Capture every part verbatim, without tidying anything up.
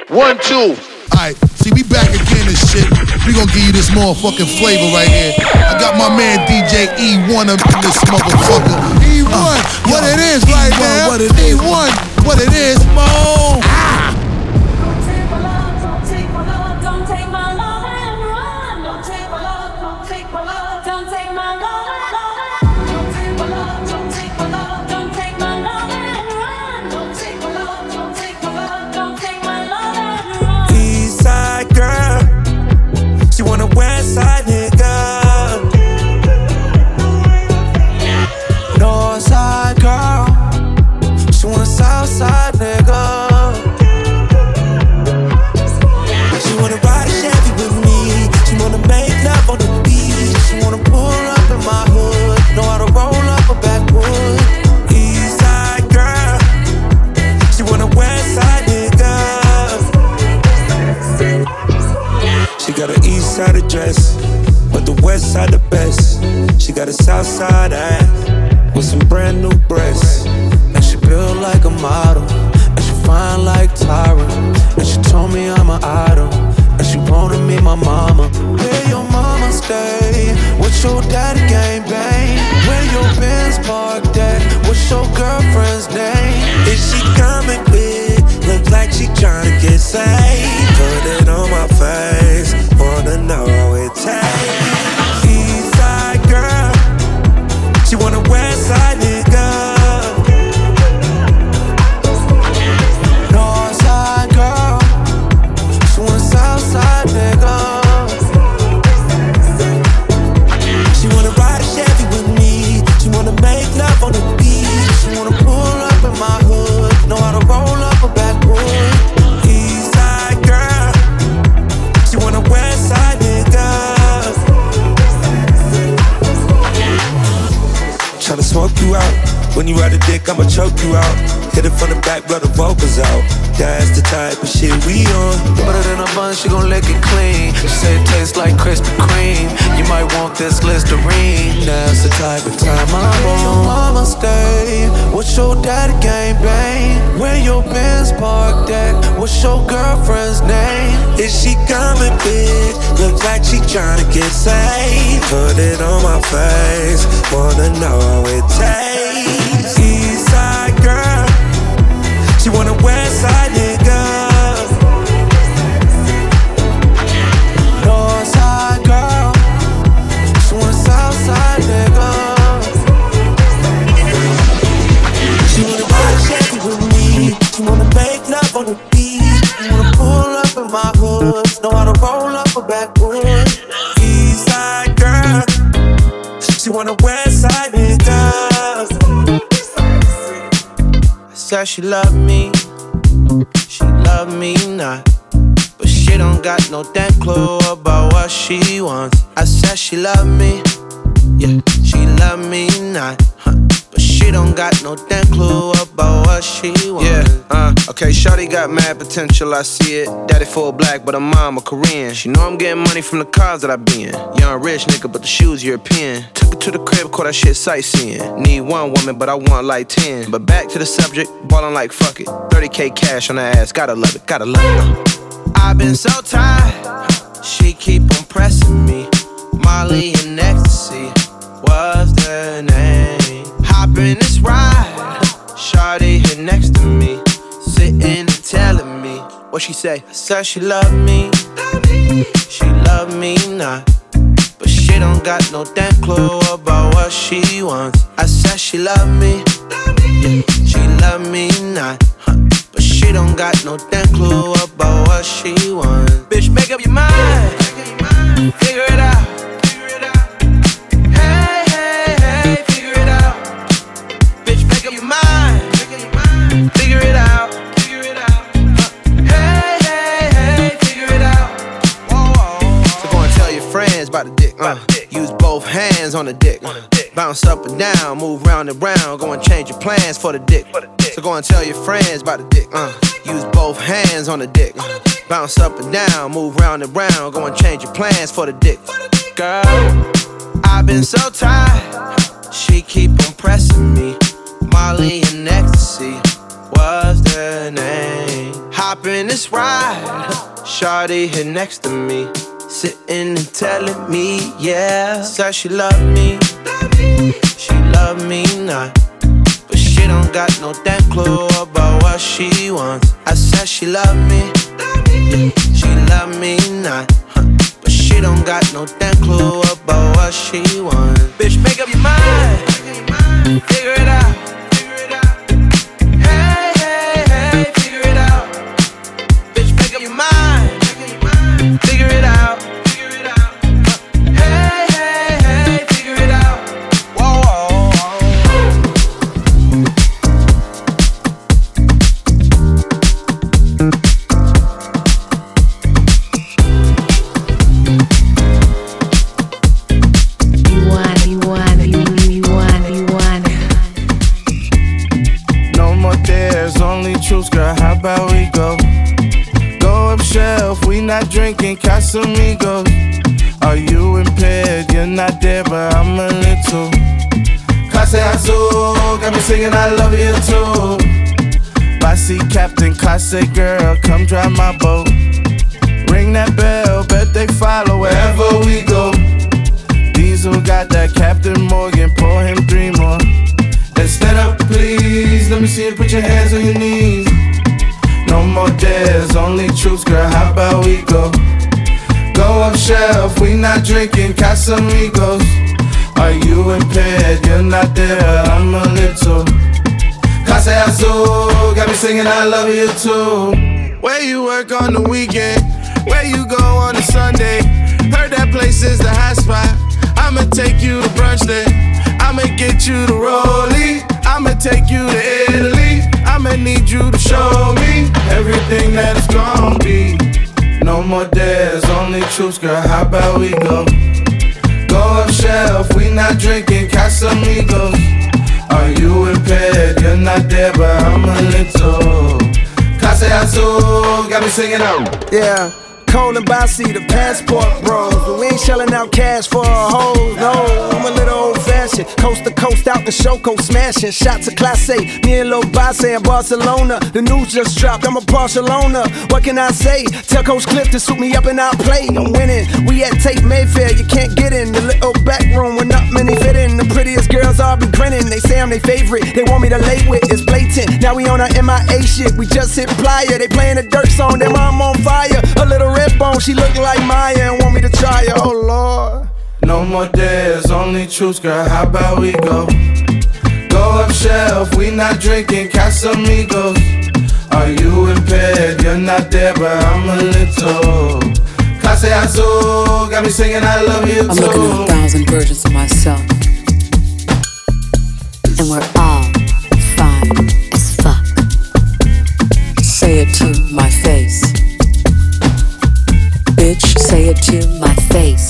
One, two. Alright, see, we back again and shit. We gonna give you this motherfucking flavor right here. I got my man D J E one up in this motherfucker. E one, uh, what yo, it is right E one, now. What it is. E one, what it is, Mo. Ah. Don't take my love, don't take my love, don't take my love and run. Don't take my love, don't take my love, don't take my love and run. Don't take my love, don't take my love, don't take my love and run. Don't take my love, don't take my love, don't take my love and run. East side girl, she want a west side nigga. North side girl, she want a south side nigga. She wanna ride a Chevy with me. She wanna make love on the beach. She wanna pull up in my hood. Know how to roll up a backwood. East side girl, she want a west side nigga. She got an east side address, but the west side the best. She got a south side ass with some brand new breasts. And she built like a model, and she fine like Tyra. And she told me I'm an idol, and she wanna meet my mama. Where your mama stay? What's your daddy gang bang? Where your Benz parked at? What's your girlfriend's name? Is she coming quick? Look like she tryna get saved. Put it on my face, wanna know how it tastes. East side girl, she want a west side nigga. North side girl, she want a south side nigga. She wanna ride a Chevy with me. She wanna make love on the beach. She wanna pull up in my hood. Know how to roll up a backwood. East side girl, she want a west side nigga. Tryna smoke you out. When you ride a dick, I'ma choke you out. Hit it from the back, blow the vocals out. That's the type of shit we on. Put it in a bun, she gon' lick it clean. She say it tastes like Krispy Kreme. You might want this Listerine. That's the type of time I'm on. Where your mama stay? What's your daddy gang bang? Where your Benz parked at? What's your girlfriend's name? Is she coming big? Looks like she tryna get saved. Put it on my face, wanna know how it tastes. East side girl, she want a west side nigga. North side girl, she want a south side nigga. She wanna ride a Chevy with me. She wanna make love on the beach. She wanna pull up in my hood. Know how to roll up a backwood. East side girl, she want a west side nigga. Said she love me, she love me not, but she don't got no damn clue about what she wants. I said she love me, yeah, she love me not, huh, but she don't got no damn clue about what she wants. Yeah, uh, okay, shawty got mad potential, I see it. Daddy full black, but her mama Korean. She know I'm getting money from the cars that I be in. Young rich nigga, but the shoes European. Took her to the crib, caught that shit sightseeing. Need one woman, but I want like ten. But back to the subject, ballin' like fuck it. thirty K cash on her ass, gotta love it, gotta love it. I've been so tired, she keep on pressing me. Molly and ecstasy was the name. Hop in this ride, shawty here next to me, sitting and telling me what she say. I said she love me, she love me not, but she don't got no damn clue about what she wants. I said she love me, yeah, she love me not, huh, but she don't got no damn clue about what she wants. Bitch, make up your mind, figure it out. Hey, hey, hey, figure it out. Bitch, make up your mind, figure it out. Hey, hey, hey, figure it out. Whoa, whoa. So go and tell your friends about the dick. Uh, use both hands on the dick. Bounce up and down, move round and round. Go and change your plans for the dick. So go and tell your friends about the dick. Uh, use both hands on the dick. Bounce up and down, move round and round. Go and change your plans for the dick. Girl, I've been so tired, she keep on pressing me. Molly and ecstasy was the name. hop in this ride. Shawty here next to me, sitting and telling me, yeah. Said she love me, she love me not, but she don't got no damn clue about what she wants. I said she love me, she love me not, but she don't got no damn clue about what she wants. Bitch, make up your mind, figure it out. Hey, hey, hey, figure it out. Bitch, make up your mind, figure it out. Hey, hey, hey, figure it out. Whoa, whoa, You want, you want, you, you want, you want. No more dares, only truths, girl, how about we go? Go up shelf, we not drinking Casamigos. Are you impaired? You're not there, but I'm a little. Clase Azul, got me singing I love you too. Bossy captain, clase girl, come drive my boat. Ring that bell, bet they follow wherever we go. Diesel got that Captain Morgan, pour him three more. Then stand up, please, let me see you put your hands on your knees. No more dares, only truths, girl, how about we go? Go up shelf, we not drinking Casamigos. Are you impaired? You're not there, I'm a little. Clase Azul, got me singing I love you too. Where you work on the weekend? Where you go on a Sunday? Heard that place is the hot spot. I'ma take you to brunch there. I'ma get you to Rollie. I'ma take you to Italy. I'ma need you to show me everything that it's gon' be. No more dares, only truths, girl, how about we go? Go up shelf, we not drinking Casamigos. Are you impaired? You're not there, but I'm a little. Clase Azul, got me singing out. Yeah, cold and bossy, the passport bros. But we ain't shelling out cash for a hoes, no. I'm a little old fashioned, coast to coast out the Shoko smashing. Shots of Class A, me and Lil Basse in Barcelona. The news just dropped, I'm a Barcelona. What can I say? Tell Coach Cliff to suit me up and I'll play. I'm winning, we at Tate Mayfair, you can't get in. The little back room where not many fit in. The prettiest girls all be grinning, they say I'm their favorite. They want me to lay with, it's blatant. Now we on our M I A shit, we just hit Playa. They playing a dirt song, then I'm on fire. A little red bone, she look like Maya and want me to try her, oh Lord. No more dares, only truths, girl, how about we go? Go up shelf, we not drinking Casamigos. Are you impaired? You're not there, but I'm a little. Clase Azul, got me singing I love you too. I'm looking at a thousand versions of myself, and we're all fine as fuck. Say it to my face. Bitch, say it to my face.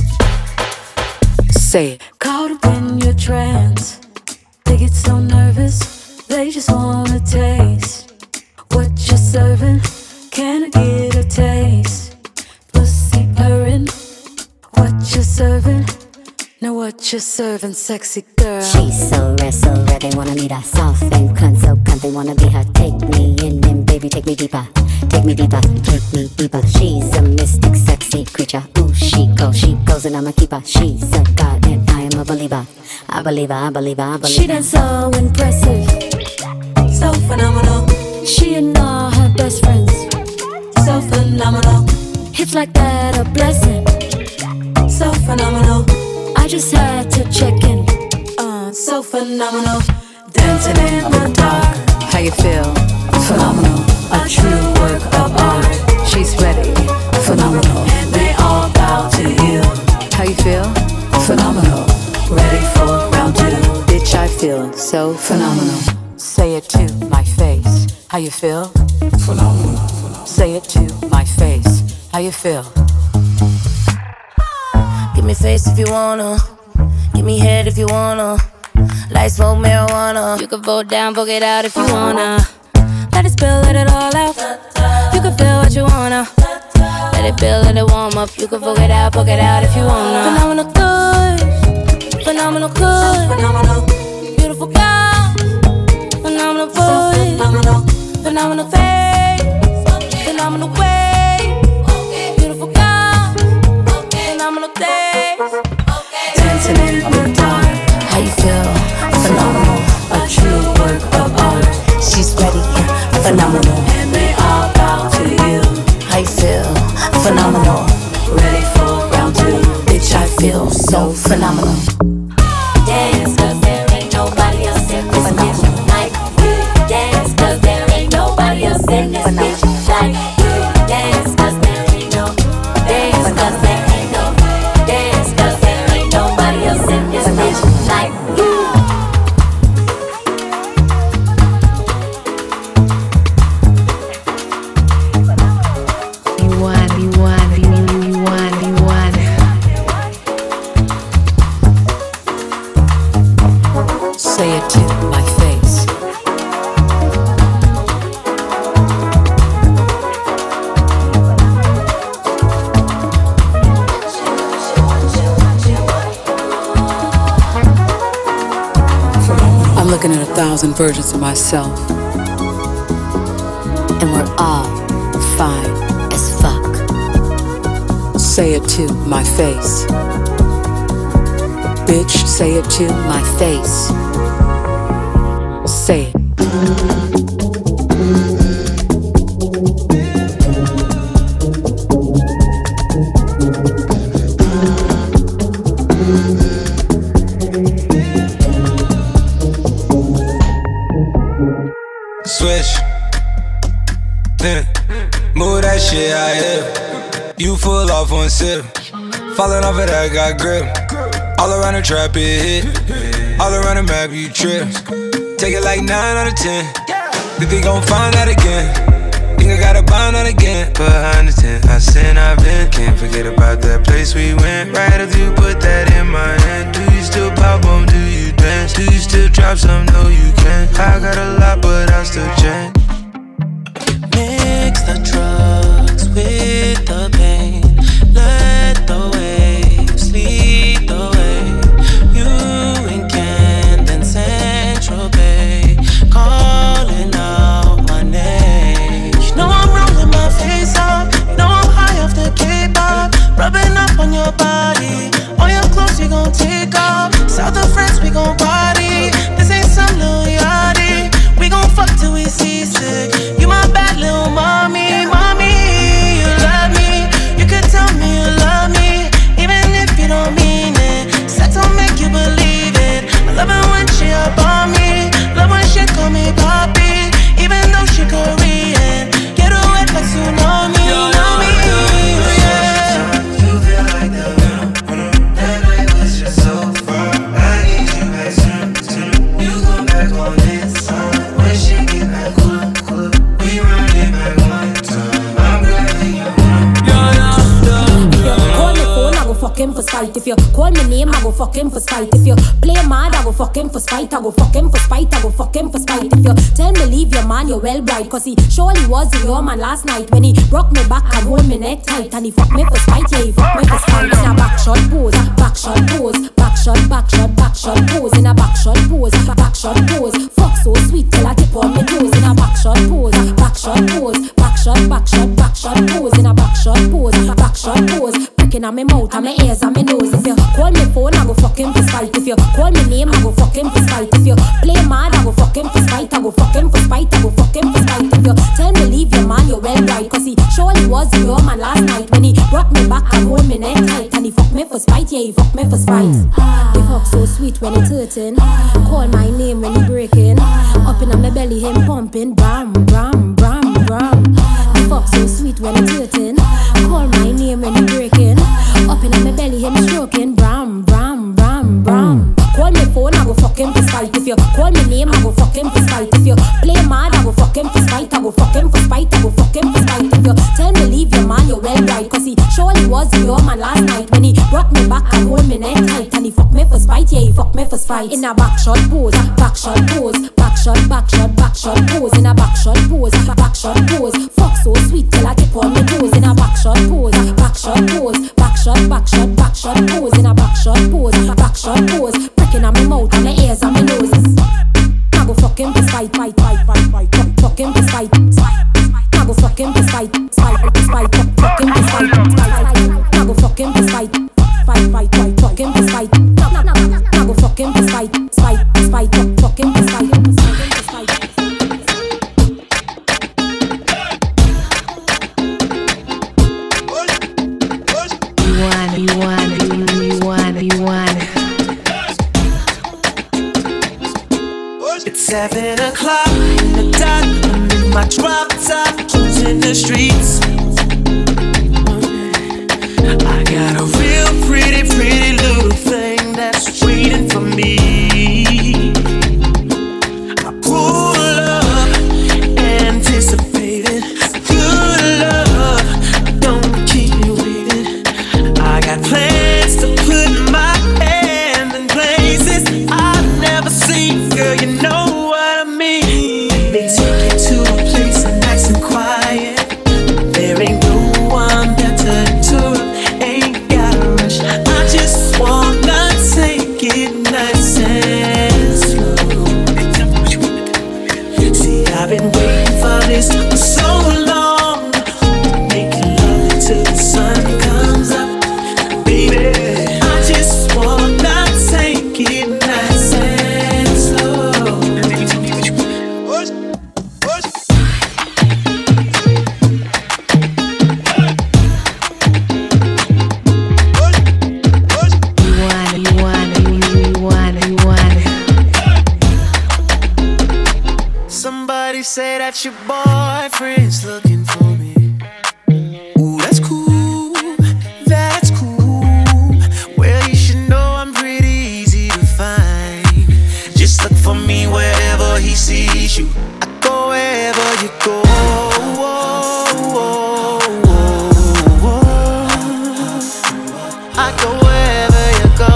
Say it. Caught up in your trance, they get so nervous, they just wanna taste what you're serving. Can I get a taste? Pussy purring, what you're serving. Know what you're serving, sexy girl. She's so red, so red, they wanna meet her. Soft and cunt, so cunt, they wanna be her. Take me in and baby, take me deeper. Take me deeper, take me deeper. She's a mystic, sexy creature. Ooh, she goes, she goes and I'm a keeper. She's a god and I am a believer. I believe her, I believe her, I believe her. She done so impressive, so phenomenal. She and all her best friends, so phenomenal. Hips like that, a blessing, so phenomenal. I just had to check in, uh, so phenomenal. Dancing in the dark, How you feel? phenomenal. A true work of art. She's ready. Phenomenal. And they all bow to you. How you feel? Phenomenal. Ready for round two. Bitch, I feel so phenomenal. Say it to my face. How you feel? Phenomenal. Say it to my face. How you feel? Give me face if you wanna. Give me head if you wanna. Light smoke marijuana. You can vote down, vote it out if you wanna. Let it spill, let it all out. You can feel what you wanna. Let it build, let it warm up. You can vote it out, vote it out if you wanna. Phenomenal good, phenomenal good, phenomenal. Beautiful girl, phenomenal voice, phenomenal, phenomenal face. phenomenal. Dance, cause there ain't nobody else in this bitch like you. Dance, cause there ain't nobody else in this bitch like you. Dance, cause there ain't no. Dance, cause there ain't no. Dance, cause there ain't nobody else in this bitch like you. Say it to my face. I'm looking at a thousand versions of myself, And we're all fine as fuck. say it to my face. Bitch, say it to My face. say it. Switch, then move that shit out here. You full off one sip, falling off of that got grip. All around the trap it hit, all around the map you trip. Take it like nine out of ten. Think they gon' find out again. Think I gotta bind out again. Behind the tent, I sin, I've been. Can't forget about that place we went. Right after you put that in my hand. Do you still pop on? Do you dance? Do you still drop some? No, you can't. I got a lot, but I still change. Mix the drugs with the pain. Let the waves lead the way. You and Camden Central Bay, calling out my name. You know I'm rolling my face up. You know I'm high off the K-pop. Rubbing up on your body. All your clothes you gon' take off. South of France we gon' party. This ain't some little yachty. We gon' fuck till we seasick. You my bad little mommy, mommy. You love me. You can tell me you love me, even if you don't mean it. Sex don't make you believe it. I love it when she up on me. Love when she call me papi, even though she Korean. Get her wet like tsunami, know me, yeah. You feel like the venom. That night was just so far. I need you back soon, soon. You come back on this song. When she get back cool, cool. We run it back one time. I'm glad that you If you call me phone, I go fuck him for spite. If you call me name, I go fuck him for spite. If you play mad, I go fuck him for spite. I go fuck him for spite. I go fuck him for spite. If you tell me leave your man, you're well bright. Cause he surely was your man last night. When he broke me back and hold me neck tight. And he fuck me for spite, yeah, he fuck me for spite. In a back shot pose, back shot pose. Back shot, back shot, back shot pose. In a back shot pose, back shot pose. Fuck so sweet till I tip on me toes. In a back shot pose, back shot pose. Back shot, back shot, back shot pose. In a back shot pose, back shot pose. Pricking on my mouth, and my ears, and my nose. If you call me phone, I go fuck him for spite. If you call me name, I go fuck him for spite. If you play mad, I go fuck him for spite. I go fuck him for spite. I go fuck him for spite. If you tell me leave your man, you're well right. Cause he surely was your man last night. When he brought me back and hold me neck tight. And he fuck me for spite, yeah, he fuck me for spite. He fuck so sweet when he hurting. Call my name when he breaking. Up in my belly, him pumping. Bram, bram, bram, bram. He fuck so sweet when he hurting. Call my name when he breaking. Up in my belly, him stroking. Bram, bram, bram, bram. Call me phone, I go fuck him for spite. If you call me name, I go fuck him for spite. If you play mad, I go fuck him for spite. I go fuck him for spite. I go fuck him for spite. If you tell me leave your man, you're well right. Cause he surely was your man last night. When he brought me back and hold me neck tight. And he fuck me for spite, yeah, he fuck me for spite. In a back shot pose, back shot pose. Back shot, back shot, back shot pose. In a back shot pose, back shot pose. Fuck so sweet till I tip on me toes. In a back shot pose, back shot pose. Back shot, back shot, back shot pose. In a back shot pose, back shot pose. Pricking on my mouth, and my ears, and my nose. I go fuck him for spite, fight, fight, fight, fight. Fuck, fuck him for spite, I go fuck him for spite, spite, spite. Fuck, fuck him for spite, spite. I go fuck him for spite, fight, fight, fight. Fuck him for spite. I go fuck him for spite, spite, spite. Fuck, fuck him for spite, fuck him for spite. You want, you want, you want, you want. Seven o'clock in the dot, I'm in my drop top, cruising the streets. I got a real pretty, pretty little thing that's waiting for me. I pull up, anticipating good love. Don't keep me waiting. I got plans to put my hand in places I've never seen. Girl, you know what I mean. They take you to a place and nice and quiet. There ain't no one better to. Ain't gotta rush. I just wanna take it nice and slow. See, I've been waiting for this for so long. Making love until the sun comes up, baby. I just wanna take it nice and slow. You want it, you want it, you want it, you want it. Somebody say that your boyfriend's looking for me. Ooh, that's cool, that's cool. Well, you should know I'm pretty easy to find. Just look for me wherever he sees you. I go wherever you go. I go wherever you go.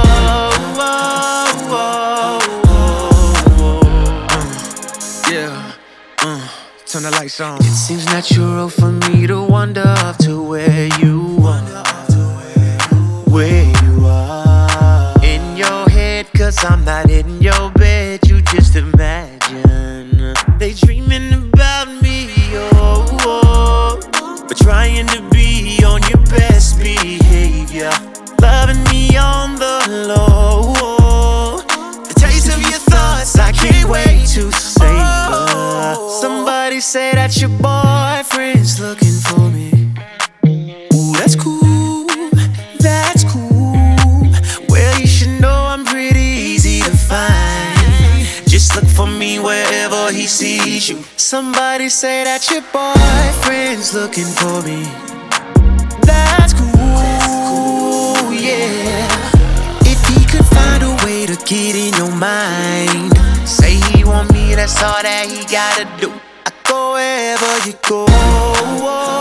Yeah, uh, turn the lights on. It seems natural for me to wander up to where you are, where you are. In your head, cause I'm not in your bed. You just imagine they dreaming about me, oh, oh. But trying to be on your best behavior. Loving me on the low. The taste of your thoughts, I can't wait to savor. Somebody say that your boyfriend's looking for me. Ooh, that's cool, that's cool. Well, you should know I'm pretty easy to find. Just look for me wherever he sees you. Somebody say that your boyfriend's looking for me. That's cool, yeah. If he could find a way to get in your mind, say he want me, that's all that he gotta do. I go wherever you go.